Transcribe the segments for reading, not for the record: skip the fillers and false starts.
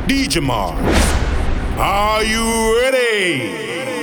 DJ Mars, are you ready?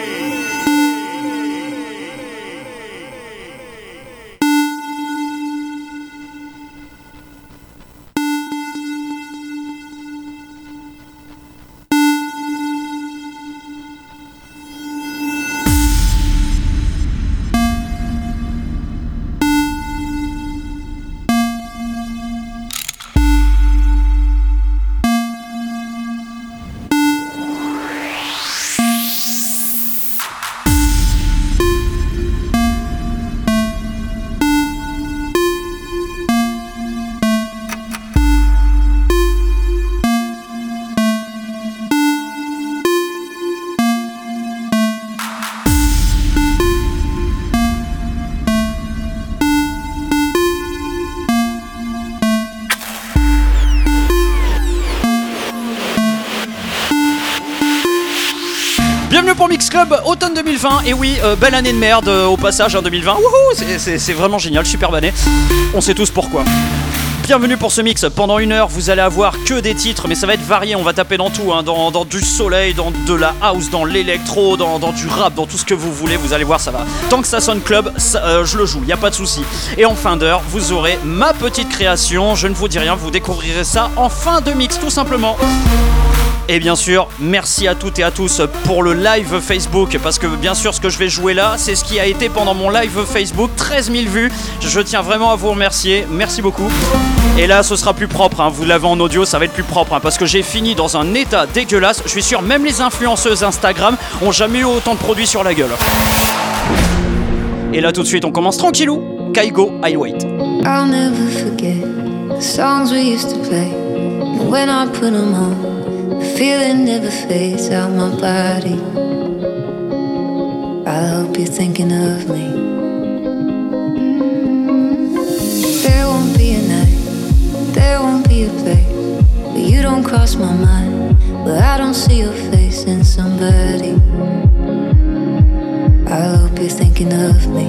Bienvenue pour Mix Club automne 2020. Et oui, belle année de merde au passage en 2020. Wouhou, c'est vraiment génial, superbe année. On sait tous pourquoi. Bienvenue pour ce mix. Pendant 1 heure, vous allez avoir que des titres, mais ça va être varié. On va taper dans tout, hein, dans du soleil, dans de la house, dans l'électro, dans du rap, dans tout ce que vous voulez. Vous allez voir, ça va. Tant que ça sonne club, je le joue, il n'y a pas de souci. Et en fin d'heure, vous aurez ma petite création. Je ne vous dis rien, vous découvrirez ça en fin de mix, tout simplement. Et bien sûr, merci à toutes et à tous pour le live Facebook, parce que bien sûr ce que je vais jouer là, c'est ce qui a été pendant mon live Facebook, 13 000 vues. Je tiens vraiment à vous remercier, merci beaucoup. Et là ce sera plus propre, hein. Vous l'avez en audio, ça va être plus propre, hein, parce que j'ai fini dans un état dégueulasse. Je suis sûr même les influenceuses Instagram ont jamais eu autant de produits sur la gueule. Et là tout de suite on commence tranquillou. Kaigo, I Wait. I'll never forget the songs we used to play, and when I put them on, the feeling never fades out my body. I hope you're thinking of me. There won't be a night, there won't be a place where you don't cross my mind, where I don't see your face in somebody. I hope you're thinking of me.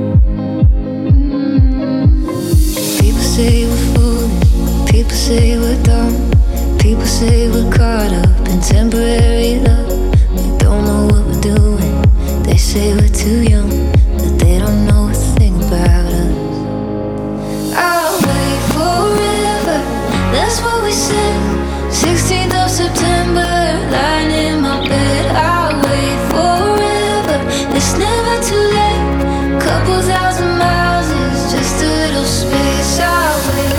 People say we're foolish, people say we're dumb, people say we're caught up in temporary love. We don't know what we're doing. They say we're too young, but they don't know a thing about us. I'll wait forever, that's what we said. 16th of September, lying in my bed. I'll wait forever, it's never too late. Couple thousand miles is just a little space. I'll wait.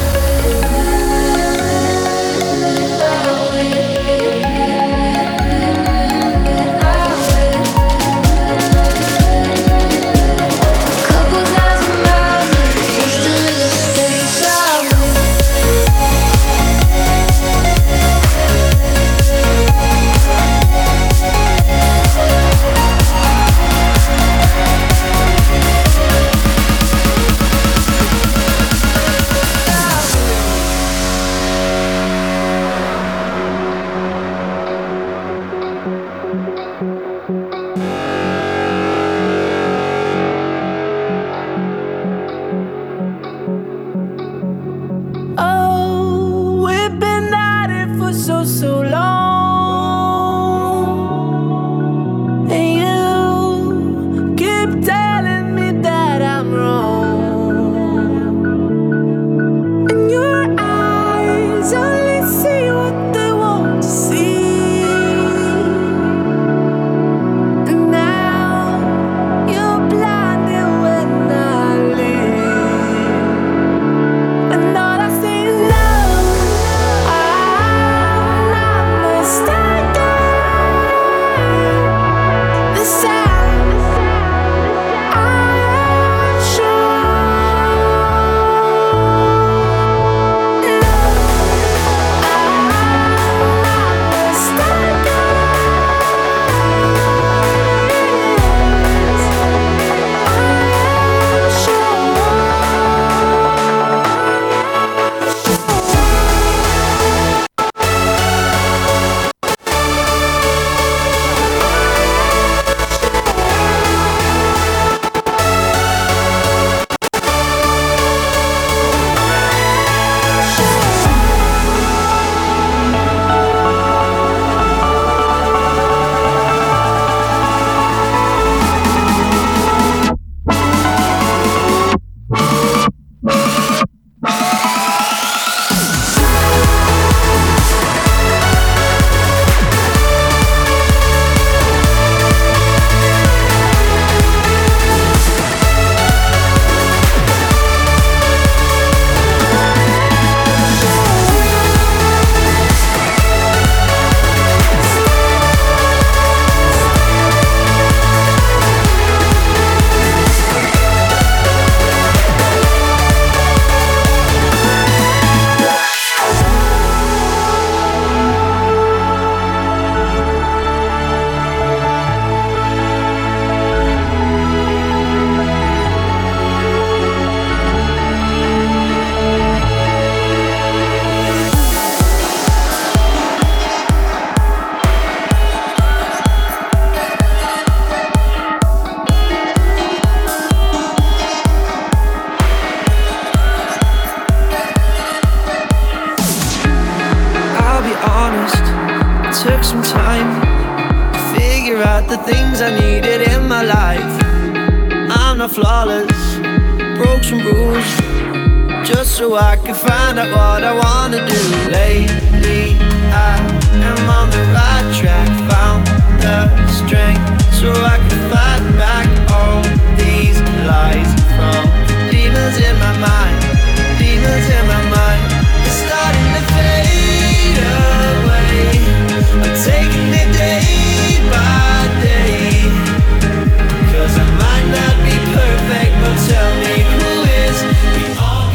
honest, it took some time to figure out the things I needed in my life. I'm not flawless, broke some rules, just so I can find out what I wanna do. Lately I am on the right track, found the strength so I can fight back all these lies from demons in my mind, demons in my mind. It's starting to fade away, I'm taking it day by day, 'cause I might not be perfect, but tell me who is. We all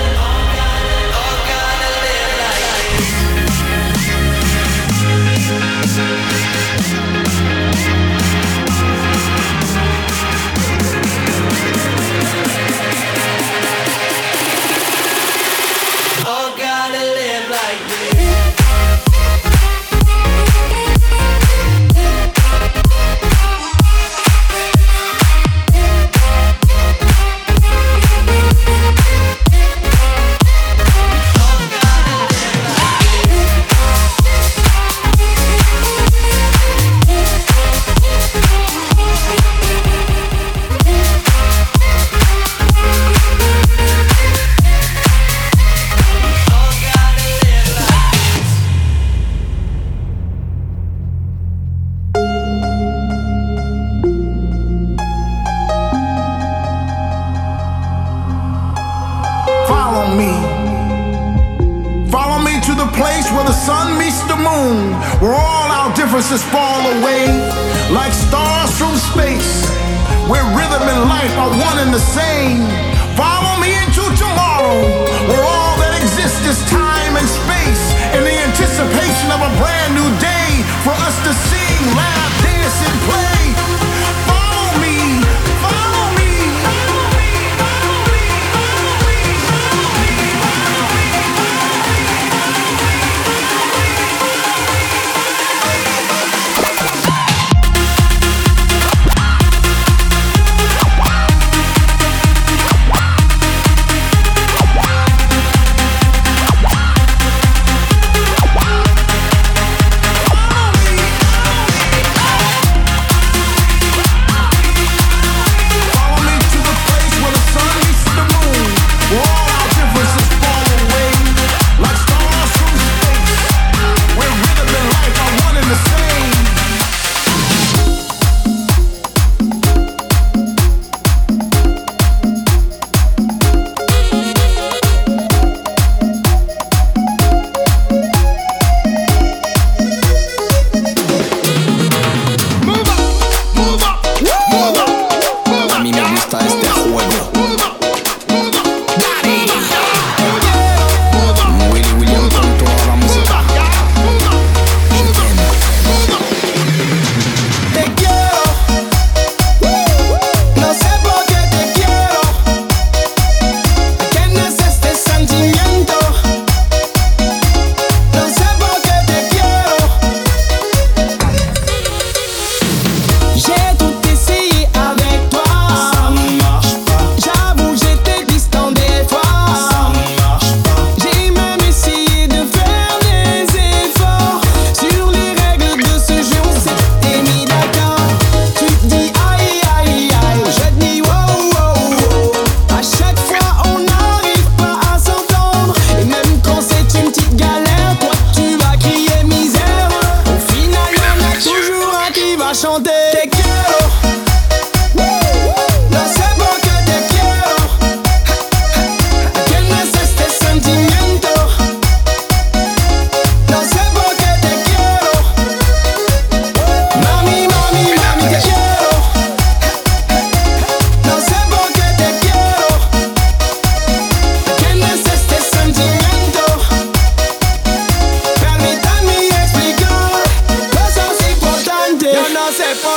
gotta live like this. All gotta live like this. Follow me to the place where the sun meets the moon, where all our differences fall away like stars from space, where rhythm and life are one and the same. Follow me into tomorrow, where all that exists is time and space, in the anticipation of a brand new day for us to sing, laugh, dance, and play. Follow me, follow me, follow me, follow me, follow me, follow me, follow me. se pone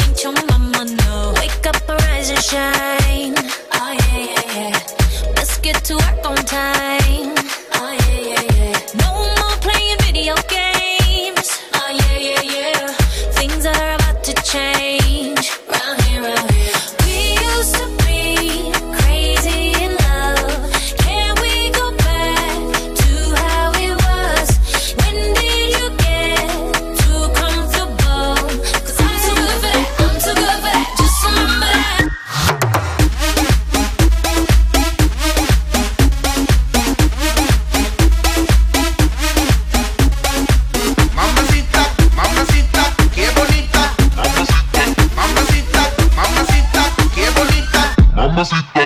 ain't your mama, no. Wake up, arise and shine. Oh yeah, yeah, yeah. Let's get to work on time. Oh yeah, yeah, yeah. No more playing video games. Oh yeah, yeah, yeah. Things are about to change. Round here, round here. We used to be crazy in love. Can we go back to how it was? When did you get too comfortable? 'Cause I'm too good for that. I'm too good for that. Just remember that. Mamacita, mamacita, qué bonita. Mamacita, mamacita, mamacita, qué bonita. Mamacita.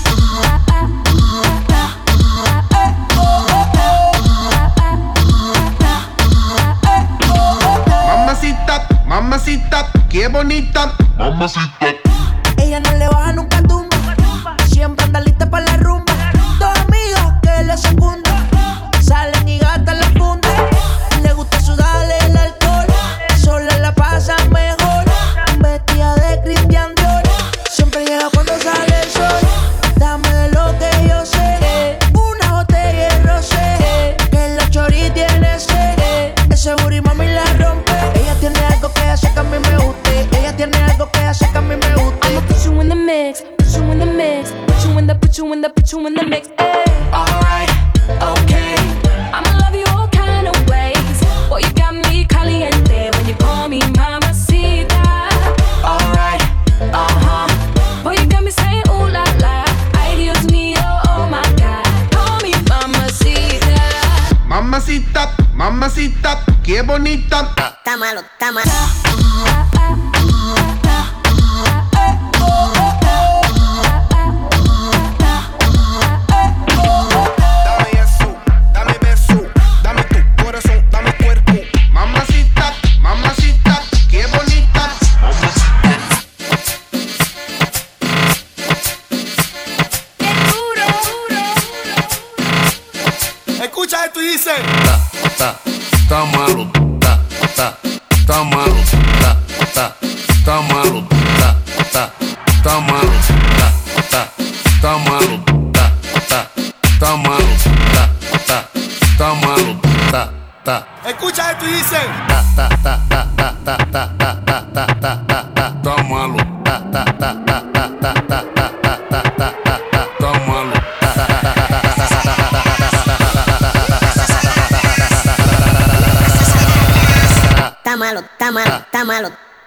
Mamacita, mamacita, qué bonita. Mamacita. Ella no le baja nunca tumba. Siempre anda lista para la rumba. Dos amigas que le secundan. Salen y gastan la funda. Le gusta sudarle el alcohol. Sola la pasa mejor. Vestida de Christian Dior. Siempre llega cuando sale el sol. Dame de lo que yo sé. Una botella de rosé. Que la chori tiene sed. Ese booty mami la rompe. Ella tiene algo que hace que a mí me guste. Ella tiene algo que hace que a mí me guste. I'ma put you in the mix, put you in the mix, put you in the, put you in the, put you in the mix. Ay. Alright, okay. I'ma love you all kind of ways. Boy, you got me caliente when you call me mamacita. Alright, Boy, you got me saying ooh la la. Ay, Dios mío, oh my God. Call me mamacita. Mamacita, mamacita, qué bonita. Está malo, está malo. Dame eso, dame beso, dame tu corazón, dame cuerpo. Mamacita, mamacita, qué bonita. Escucha esto y dice. Tá malo, tá malo, tá malo, tá malo, tá malo, tá malo, tá malo, Escucha esto y dice. tá malo, tá malo. Está malo, está malo, está malo.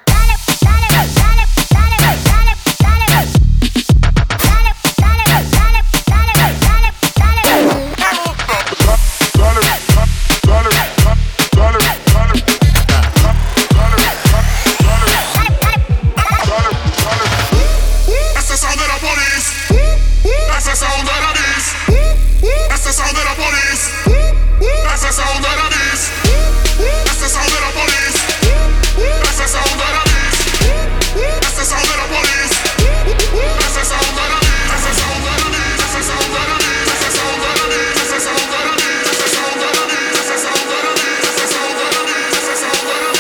Esse sound of the police. Esse sound of the beast. Esse sound of the police. Esse sound of the beast. Esse sound of the police. Esse sound of the beast. Esse sound of the police. Esse sound of the beast. Esse sound of the beast. Esse sound of the beast. Esse sound of the beast. Esse sound of the beast. Esse sound of the beast. Esse sound of the beast. Esse sound of the beast. Esse sound of the beast.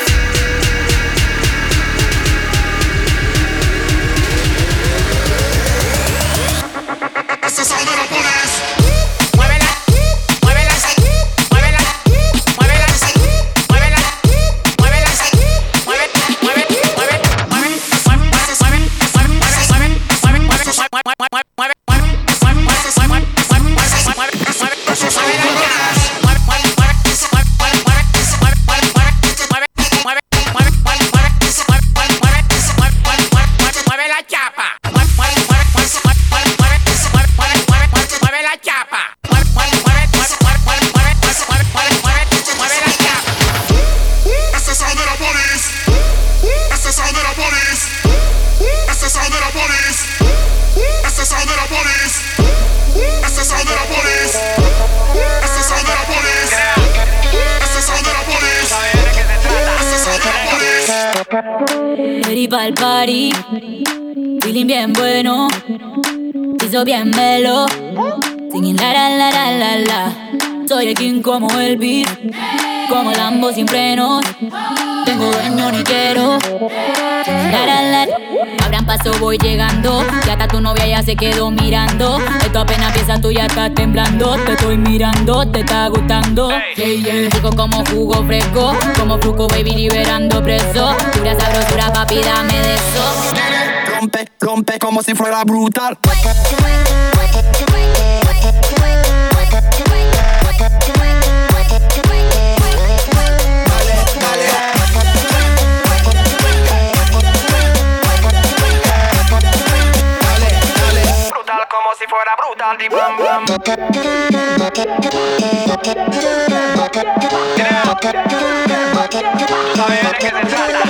Esse sound of the police. Muévela, muévela, muévela, muévela, muévela, muévela, mueve la chapa. Esse sound of the police. Esse sound of the police. Esse sound of the police. Esse sound of the police. Esse sound of the police. Esse sound of the police. Esse sound of the police. Esse sound of the police. Ready pa'l party, feeling bien bueno, piso bien melo, singing la la la la la la. Soy el king como el beat, como Lambo sin frenos. Tengo dueño ni quiero. Abran paso, voy llegando. Ya hasta tu novia ya se quedó mirando. Esto apenas empieza, tú ya estás temblando. Te estoy mirando, te está gustando. Rico como jugo fresco, como fruco baby liberando preso. Pura sabrosura papi, dame de eso. Rompe, rompe como si fuera brutal. Como si fuera brutal, di bam bam. ¿Sabes de qué se trata?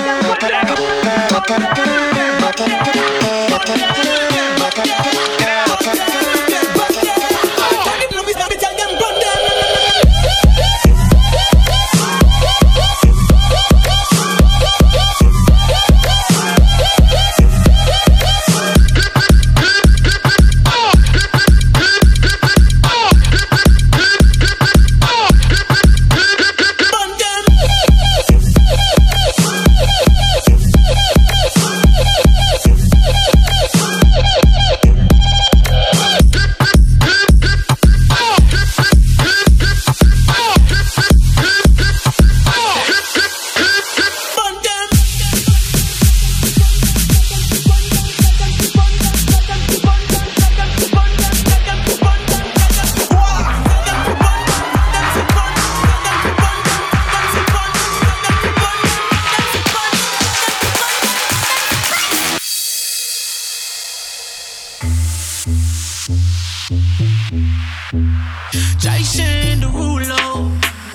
Jason Derulo.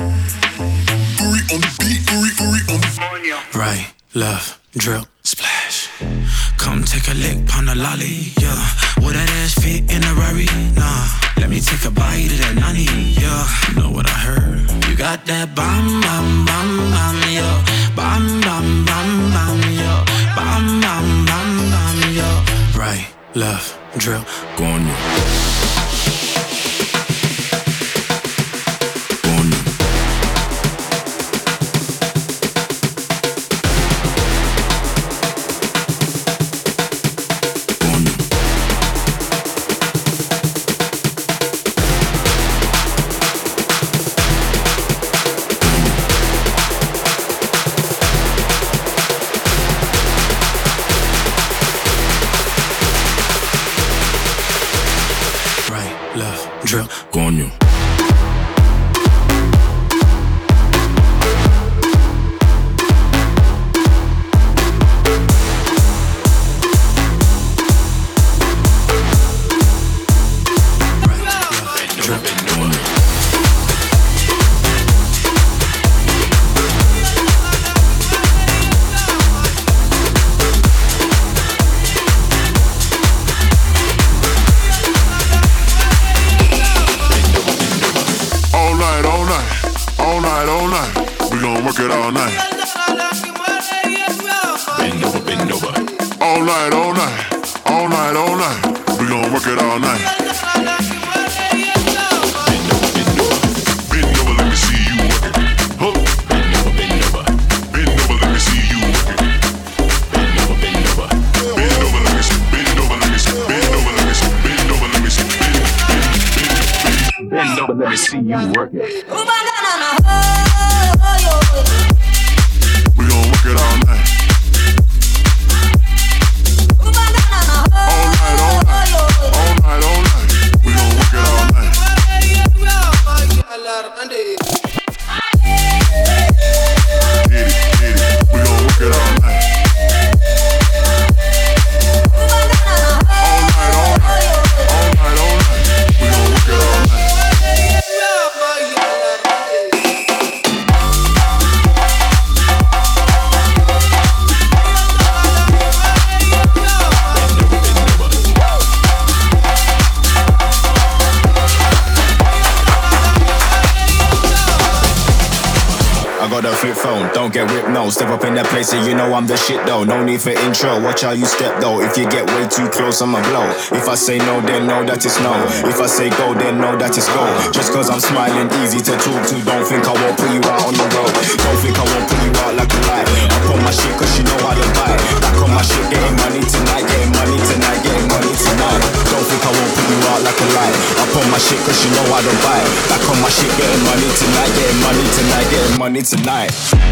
Right, left, drip, splash. Come take a lick, pon a lolly, yeah. Would that ass fit in a Rari? Nah. Let me take a bite of that nani, yeah. Know what I heard? You got that bam, bam, bam, bam, yeah. Bam, bam, bam, bam, yeah. Bam, bam, bam, bam, yeah. Right, left, drip, go on you. Drill, coño. Work it all night. Bend over, bend over. All night, all night. All night, all night. We gon' work it all night. Bend over, bend over. Bend over, let me see you work it. Huh. Bend over, bend over. Bend over, let me see you work it. Bend over, bend over. Bend over, let me see. Bend over, let me see. Bend over, let me see. Bend over, let me see. Bend over, let me see you work it. We gon' work it all night. All night, all night. All night, all night. We gon' work it all night. Hit it. We gon' work it all night. All night, all night. All night, all night. We gon' work it all night. flip phone. Don't get whipped, no. Step up in that place and you know I'm the shit though. No need for intro, watch how you step though. If you get way too close, I'ma blow. If I say no, then know that it's no. If I say go, then know that it's go. Just cause I'm smiling, easy to talk to. Don't think I won't put you out on the road. Don't think I won't put you out like a light. Up on my shit cause you know how to buy. Back on my shit, getting money tonight. Getting money tonight, getting money tonight. Don't think I won't put you out like a light. Up on my shit cause you know how to buy. Back on my shit, getting money tonight. Getting money tonight, getting money tonight.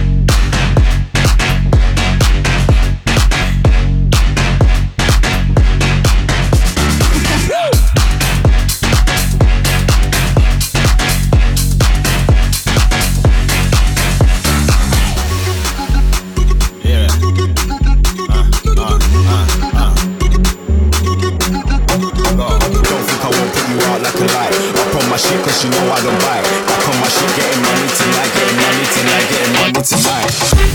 Cause you know I don't buy. Back on my shit, getting money tonight, getting money tonight, getting money tonight.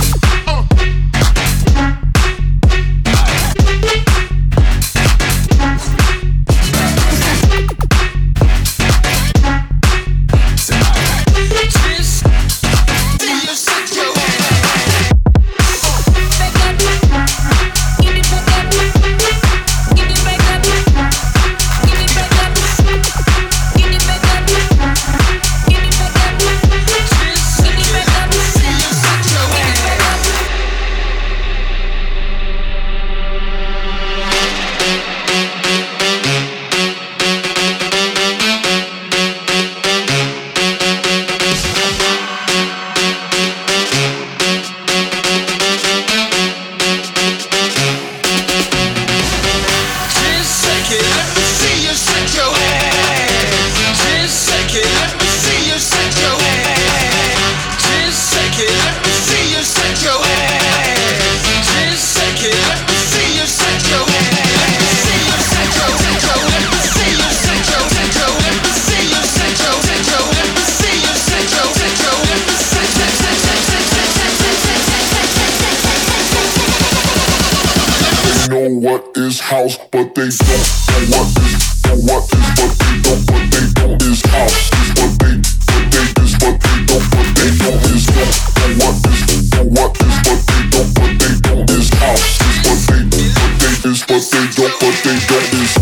What is house, but they don't know what is, but they don't is house. Is what they is, but they don't is know what is, but they don't is house. Is what they is, but they don't is.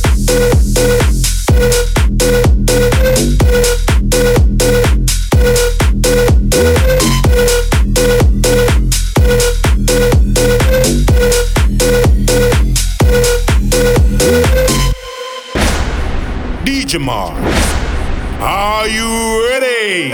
Jamar, are you ready?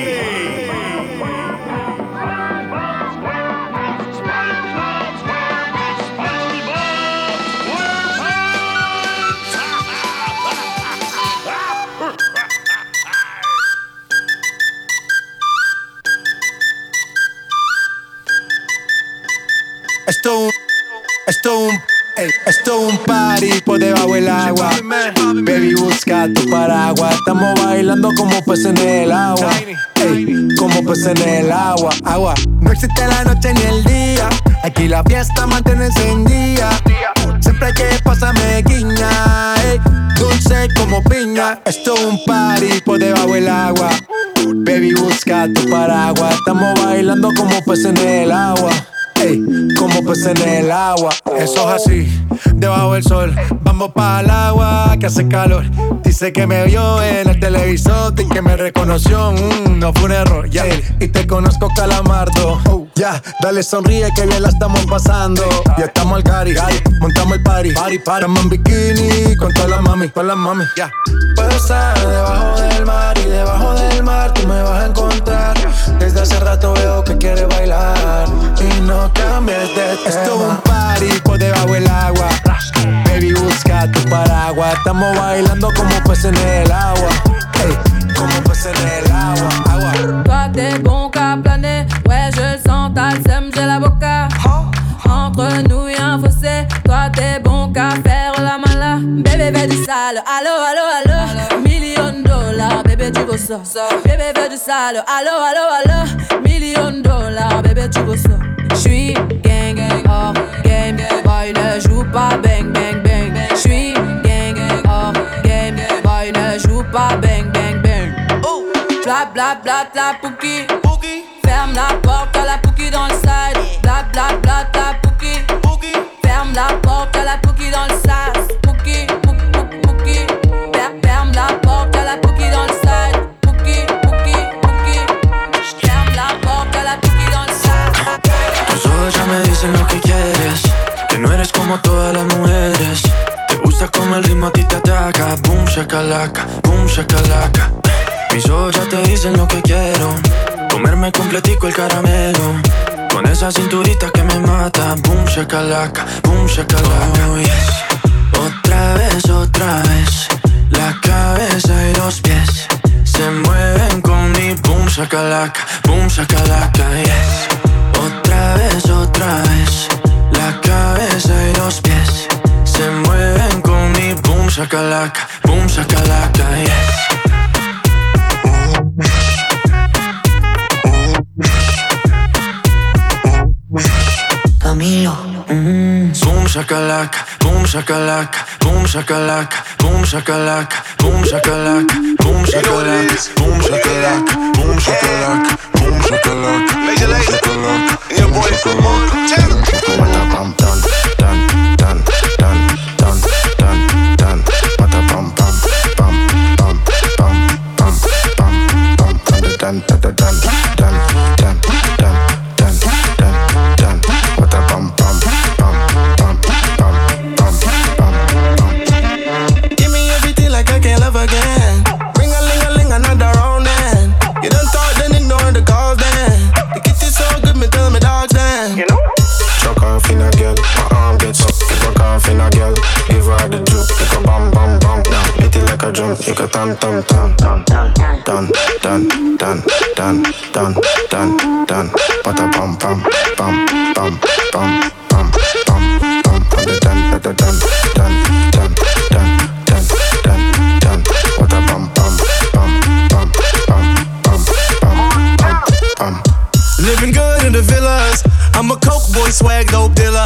Esto es un party por debajo del agua. Baby, busca tu paraguas. Estamos bailando como peces en el agua. Ey, como peces en el agua. Agua. No existe la noche ni el día. Aquí la fiesta mantiene encendida. Siempre hay que pasarme guiña. Ey, dulce como piña. Esto es un party por debajo del agua. Baby, busca tu paraguas. Estamos bailando como peces en el agua. Ey, como peces en el agua. Eso es así, debajo del sol. Vamos para el agua que hace calor. Dice que me vio en el televisor y que me reconoció. No fue un error, ya. Y te conozco, Calamardo. Ya, dale sonríe que bien la estamos pasando. Ya estamos al cari, montamos el party. Estamos en bikini con todas las mami, ya. Puedo estar debajo del mar y debajo del mar tú me vas a encontrar. Desde hace rato veo que quieres bailar y no cambies de tema. Esto es un party por debajo del agua. Baby, busca tu paraguas. Estamos bailando como peces en el agua. Hey, como peces en el agua. Toi t'es bon qu'à planer. Ouais je le sens, t'as le seum, j'ai la boca. Entre nous y'a un fossé. Toi t'es bon qu'à faire la mala. Bébé veut du sale, allo, allo, allo. $1,000,000, bébé tu veux ça. Bébé veut du sale, allo, allo, allo. $1,000,000, bébé tu veux ça. J'suis gang gang hors game. Boy ne joue pas bang bang bang. J'suis gang gang hors game. Boy ne joue pas bang bang bang. Bla bla bla bla pouki. Ferme la porte. porte, y'a la Pookie dans le sas. Pookie, Pookie, ferme la porte, y'a la Pookie dans le sas. Pookie, ferme la porte, y'a la Pookie dans le sas. Tus ojos ya me dicen lo que quieres, que no eres como todas las mujeres. Te gusta como el ritmo a ti te ataca. Boom shakalaka, boom shakalaka. Mis ojos ya te dicen lo que quiero, comerme completico el caramelo. Con esa cinturita que me mata. Boom shakalaka, boom shakalaka. Oh, yes. Otra vez, la cabeza y los pies se mueven con mi boom shakalaka, yes. Otra vez, la cabeza y los pies se mueven con mi boom shakalaka, yes. Camilo. Boom shakalaka, boom shakalaka, boom shakalaka, boom shakalaka, boom shakalaka, boom shakalaka, boom shakalaka, boom shakalaka, boom shakalaka. Lazy, and your boy Taylor. Pam dun dun dun dun dun dun dun. What a pam pam pam pam pam pam pam pam. Dun dun dun dun dun dun dun dun dun dun. What a pam pam pam pam pam pam pam pam. Give me everything like I can't love again. Ring a ling a ling another round then. You done thought then ignore the calls then. The kitty so good me tell me dogs then. You know. Chuck off in a girl, my arm gets up. Fuck off in a girl, give her the juke. You go bam bam bam, now hit it like a drum. You go tam tam tam tam dun dun dun dun dun dun dun. What a pam pam pam pam pam pam pam pam. Dun dun dun dun dun dun dun dun dun. What a pam pam pam pam pam pam pam pam. Living good in the villas. I'm a coke boy, swag dope dealer.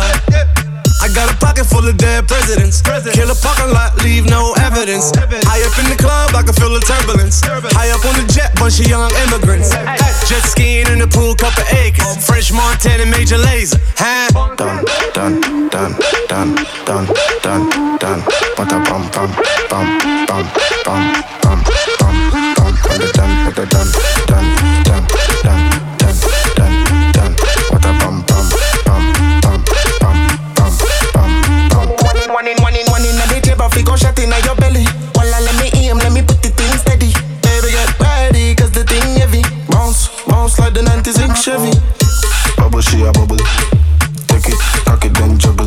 I got a pocket full of dead presidents. Kill a parking lot, leave no evidence. High up in the club, I can feel the turbulence. High up on the jet, bunch of young immigrants. Jet skiing in the pool, couple acres. French Montana, Major Lazer. Dun dun dun dun dun dun dun. What a pam pam pam pam pam pam pam pam. Dun dun dun dun dun dun dun dun dun. What a pam pam pam pam pam pam pam pam. One in the table, fi go shot in your belly. Walla, let me aim, let me put the thing steady. Baby, get ready, cause the thing heavy. Bounce, bounce like the 96 Chevy. Bubble, she a bubble. Take it, cock it, then juggle.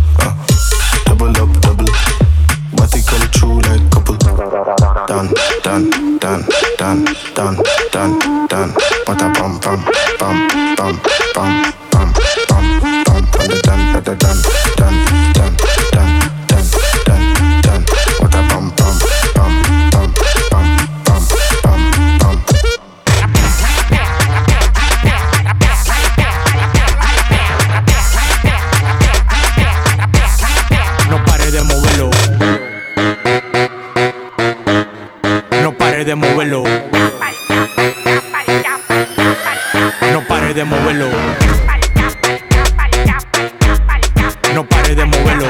Double up, double. Body come true like couple. Dun, dun, dun, dun, dun, dun, dun. What a pam, pam, pam, pam, pam, pam, pam, pam. Dun, dun, dun, dun, dun, dun, dun, dun, dun, dun. What a pam, pam, pam, pam, pam, pam, pam, pam. No pare de moverlo. No pare de moverlo. No pare de moverlo. No pare de moverlo.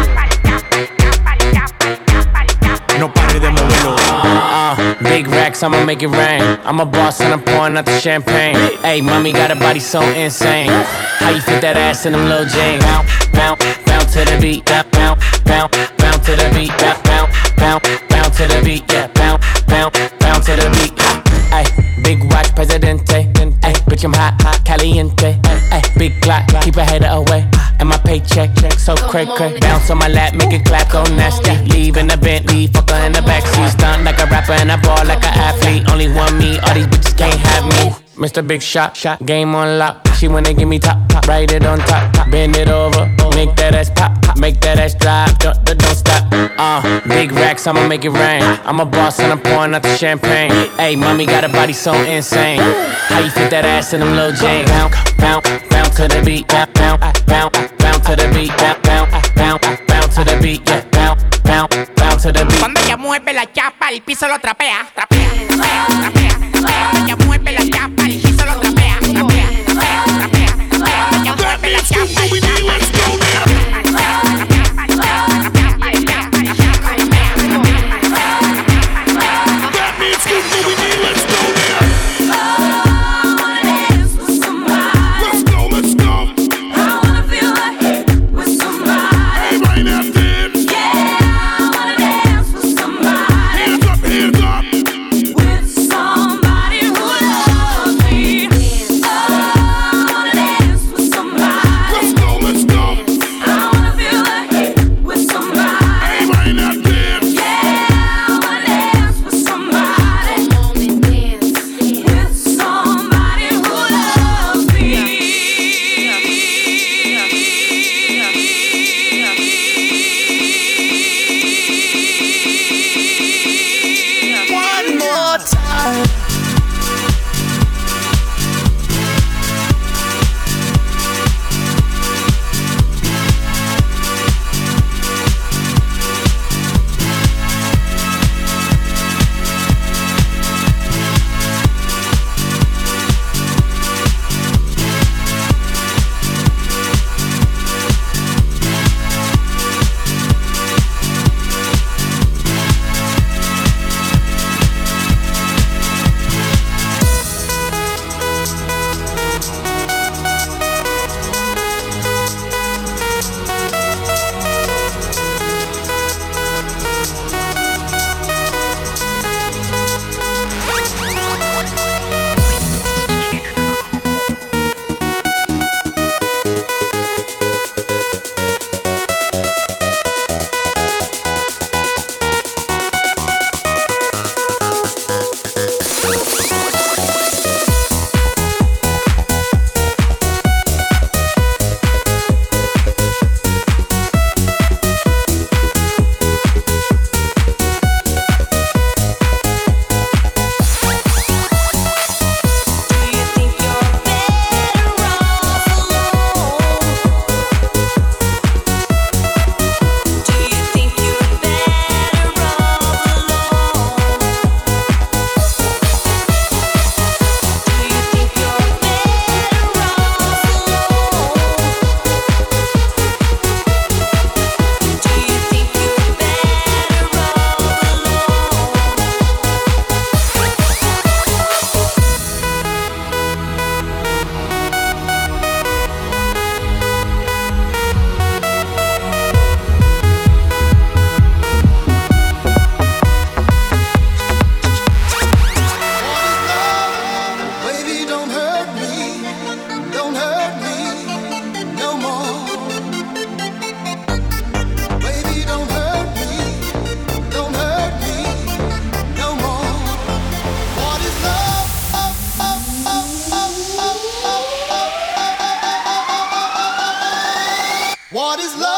No pare de moverlo. Big racks, I'ma make it rain. I'm a boss and I'm pouring out the champagne. Hey, mommy got a body so insane. How you fit that ass in them little jeans? Bounce, bounce, bounce to the beat. Bounce, bounce, bounce to the beat. Bounce, bounce, bounce to the beat. Yeah, bounce, bounce, bounce to the beat. Ay, big watch, Presidente. Ay, bitch, I'm hot, hot, caliente. Ay, big clock, keep a hater away. And my paycheck, so cray cray. Bounce on my lap, make it clap, go nasty. Leave in the Bentley, fuck her in the backseat. Stunt like a rapper and I ball like an athlete. Only one me, all these bitches can't have me. Mr. Big Shot, game on lock. She wanna give me top, write it on top, bend it over, make that ass pop, make that ass drop, don't stop. Big racks, I'ma make it rain. I'm a boss and I'm pouring out the champagne. Hey, mommy got a body so insane. How you fit that ass in them little jeans? Bounce, bounce, bounce to the beat. Bounce, bounce, bounce to the beat. Bounce, bounce, bounce to the beat. Yeah, bounce, bounce, bounce to the beat. Cuando ella mueve la chapa, el piso lo trapea, trapea, trapea, trapea. Cuando ella mueve la chapa, el piso lo trapea, trapea, trapea, trapea. Ella mueve la chapa, el piso lo trapea, trapea, trapea.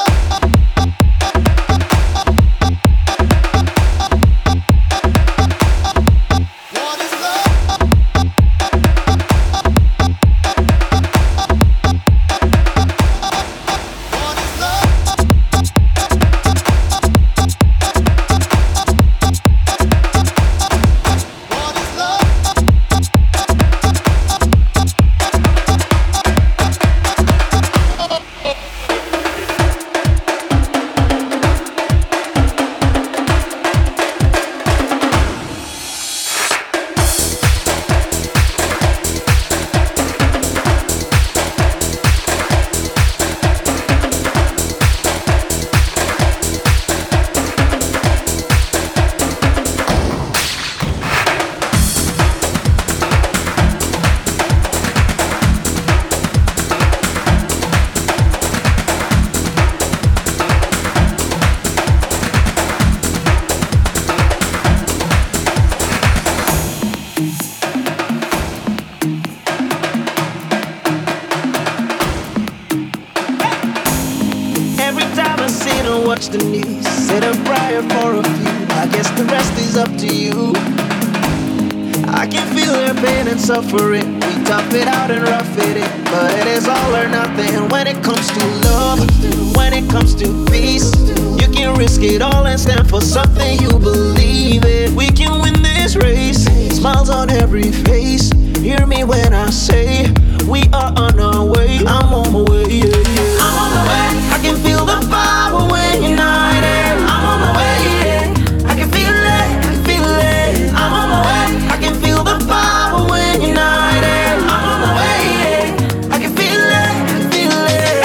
watch the news, said a prayer for a few. I guess the rest is up to you. I can feel their pain and suffering. We tough it out and rough it in, but it is all or nothing when it comes to love. When it comes to peace, you can risk it all and stand for something you believe in. We can win this race, smiles on every face. Hear me when I say we are on our way. I'm on my way, yeah, yeah. I'm on my way. I can feel the power when you're not there. I'm on my way, yeah. I can feel it, I can feel it. I'm on my way. I can feel the power when you're not there. I'm on my way, yeah. I can feel it, I can feel it.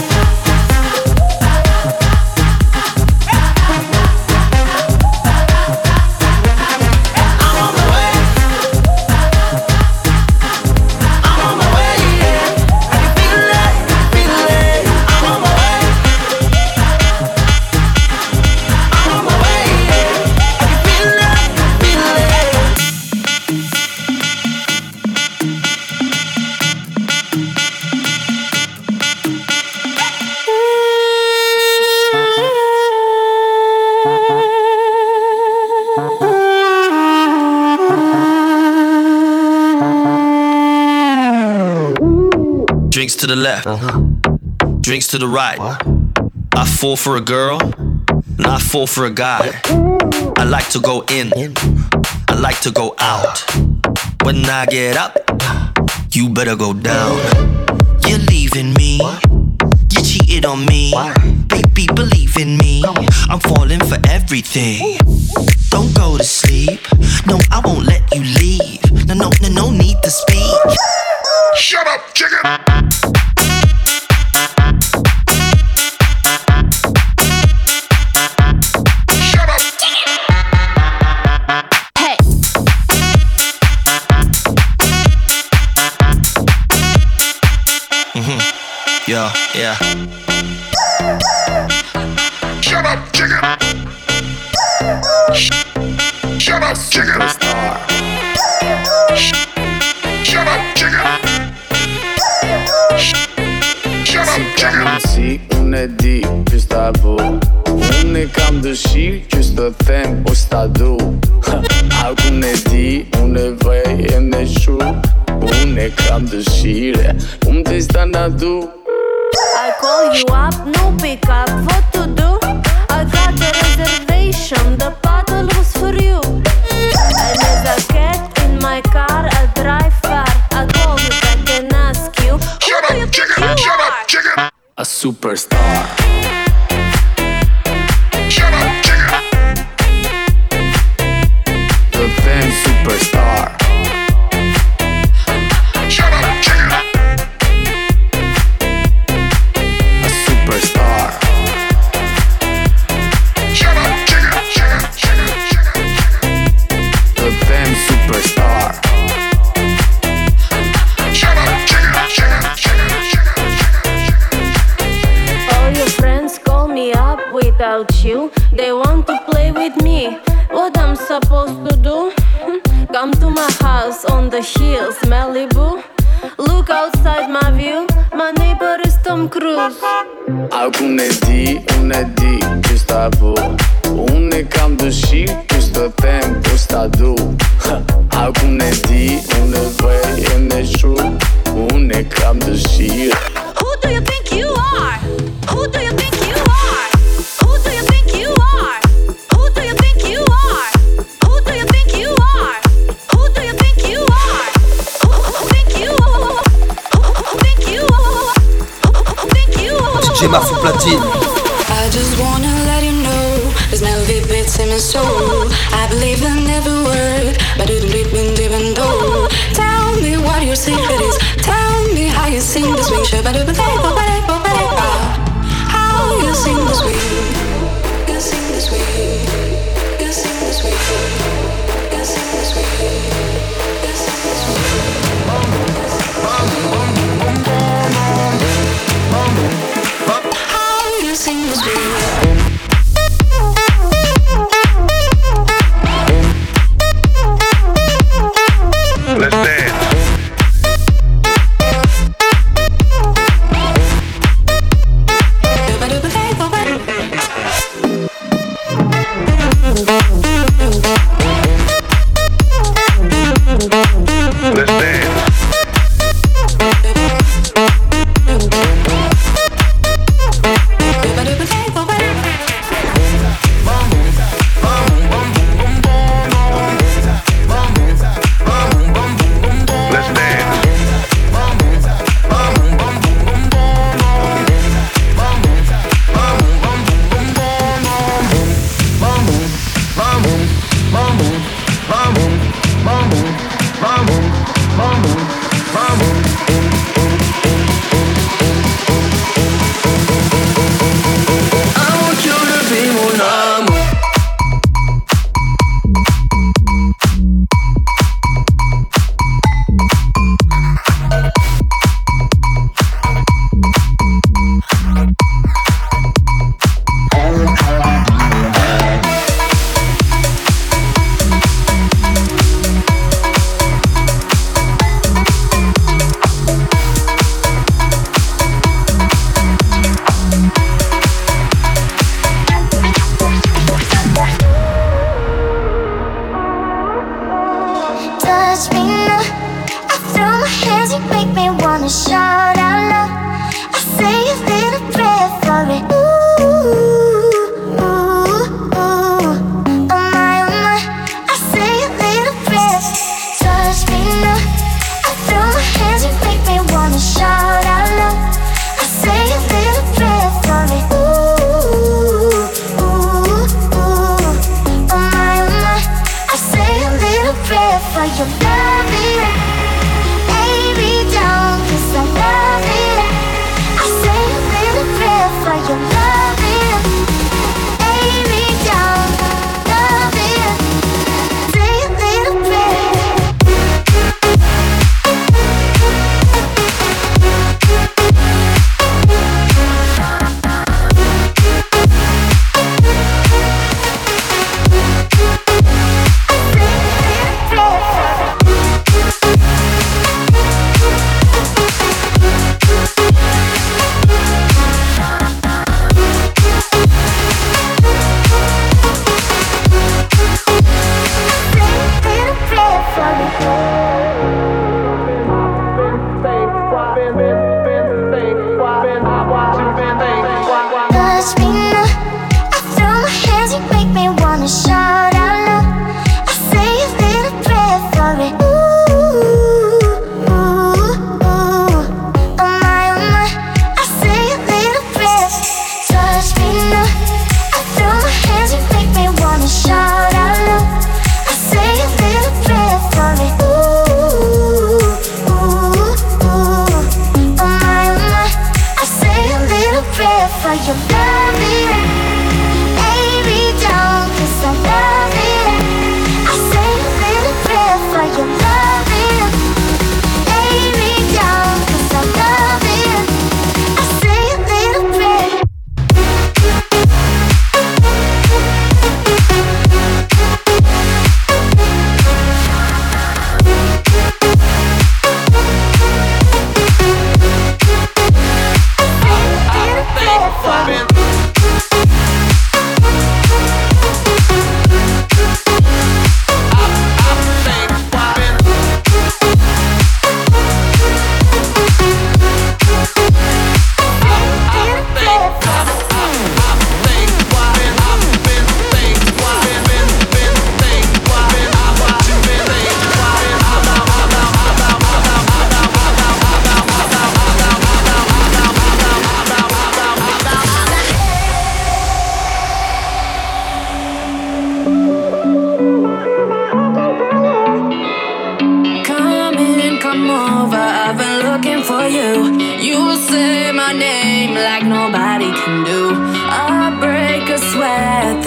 I'm on my way. I'm on my way, yeah. I can feel it, feel it. I'm on my way. I'm on my way, yeah. I can feel it, feel it. Drinks to the left, drinks to the right. I fall for a girl, and I fall for a guy. I like to go in, I like to go out. When I get up, you better go down. You're leaving me, you cheated on me. Baby, believe in me, I'm falling for everything. Don't go to sleep, no, I won't let you leave. No need to speak. Shut up, chicken! Shut up! Hey. Yeah. Shut up, chicken! Shut up, chicken! Shut up, chicken! Shut up, chicken! Si unë e di që sta bu, unë e kam dëshirë që s'të them o s'ta du. A unë e di, unë e vej e në shu, unë e kam dëshire, unë të stana du. I call you up, no pick up, what to do? I got the reservation, the bottle was for you. And as I get in my car, I drive far. I call you back and ask you, Shut up, chicken! Shut up, chicken! A superstar. Shut up, chicken! The then superstar. Shut up, chicken! A superstar. Shut up, chicken! The then superstar. Shut up, chicken! all your friends call me up without you. They want to play with me. What I'm supposed to do? Come to my house on the hills, Malibu. Look outside my view. My neighbor is Tom Cruise. Alcune di questa boh. Une cam de chic, questo tempo sta giù. Alcune di, une vrai, une true. Une cam de chic. Who do you think you are? Who do you think you are? Who do you think you are? Who do you think you are? Who do you think you are? Who do you think you are? Who think you are? Who think you are? Who think you are? DJ Marfou platine. I just wanna let you know there's never beats in my soul. I believe in every word, but it didn't even though. Tell me what your secret is. Tell me how you sing this ring. How you sing this way. You sing this way. You sing this way. You sing this way. You sing this way. How you sing this way. Let's dance. Let's dance.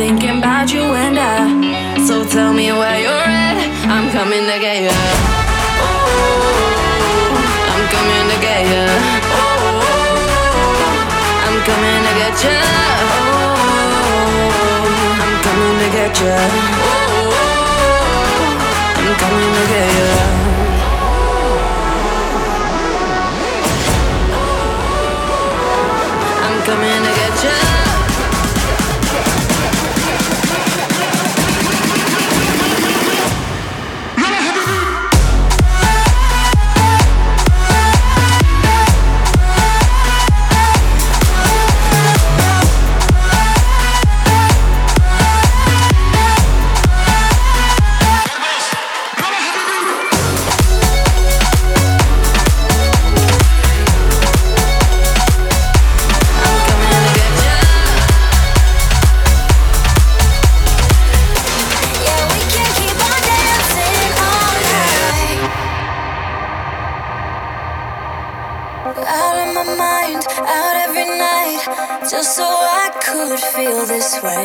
thinking about you and I. So tell me where you're at, I'm coming to get you. Oh, I'm coming to get you. Oh, I'm coming to get you. Oh, I'm coming to get you. Oh, I'm coming to get you. Coming to get you. Just so I could feel this way.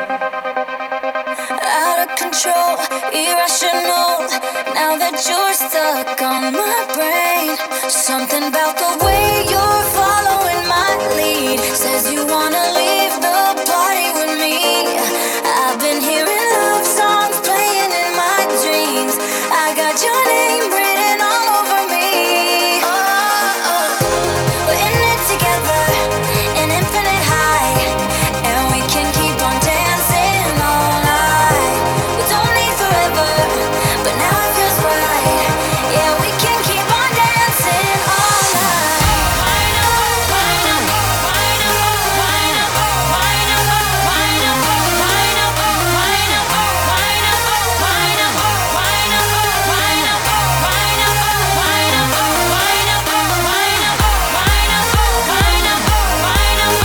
Out of control, irrational. Now that you're stuck on my brain. Something about the way you're following my lead says you wanna leave the party with me. I've been hearing love songs playing in my dreams. I got your name written all over me. Oh, we're in it together. An infinite high, and we can keep on dancing all night. We don't need forever, but now it feels right. Yeah, we can keep on dancing all night. Wind up, wind up, wind up, wind up, wind up, wind up, wind up, wind up, wind up, wind up, wind up, wind up, wind up, wind up, wind up, wind up, wind up, wind up, wind up.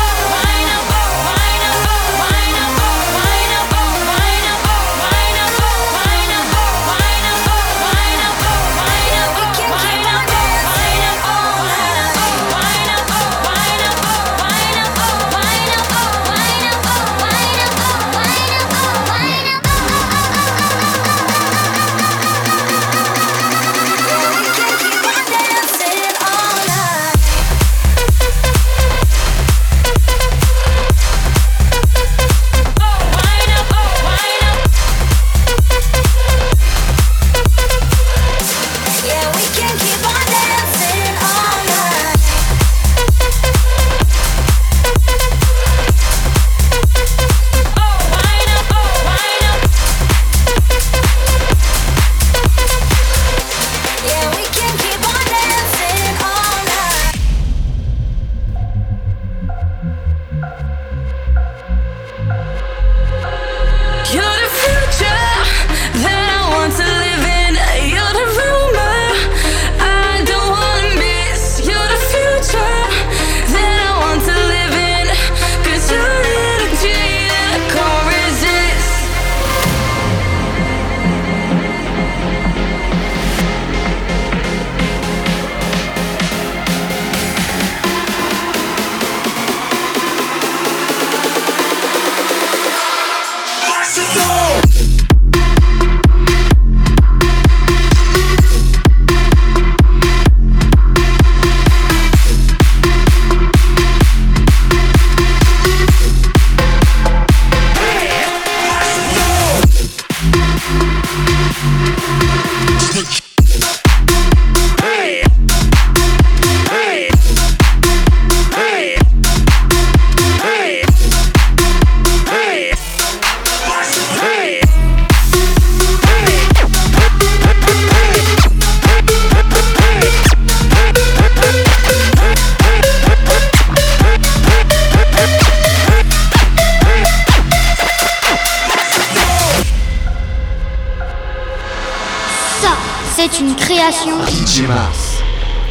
C'est une création DJ Mars.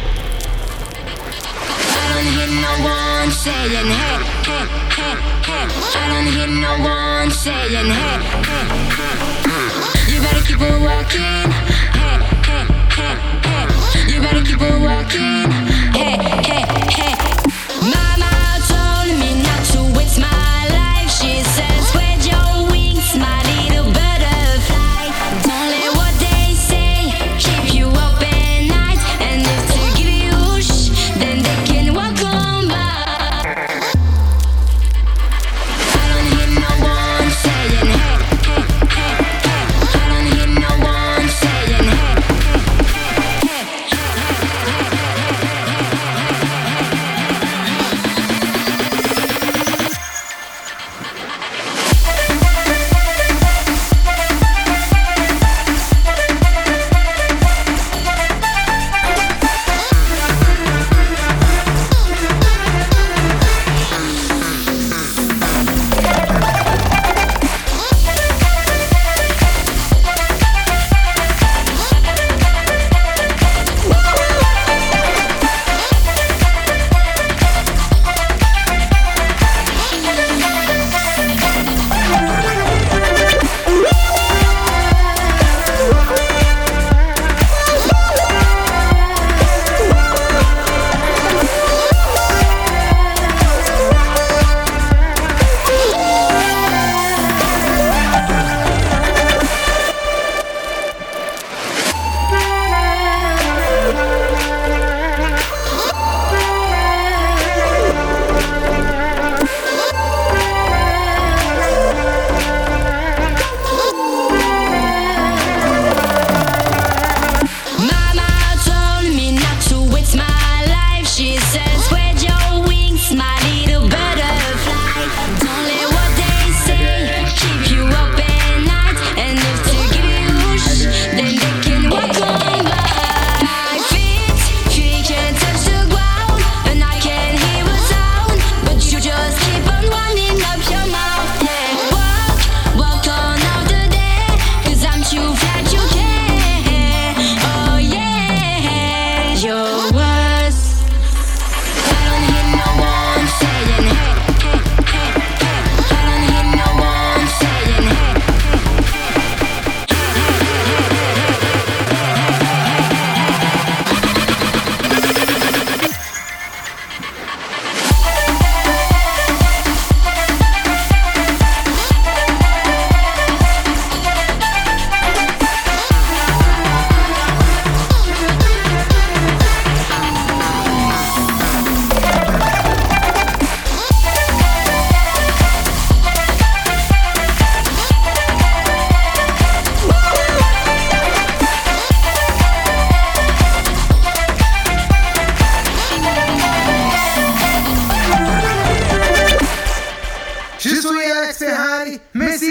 I don't hear no one saying hey, hey, hey, hey. I don't hear no one saying hey, hey, hey. You better keep on walking. Hey, hey, hey, hey. You better keep on walking. Hey, hey, hey. Mama told me not to waste my life. She says, spread your Messi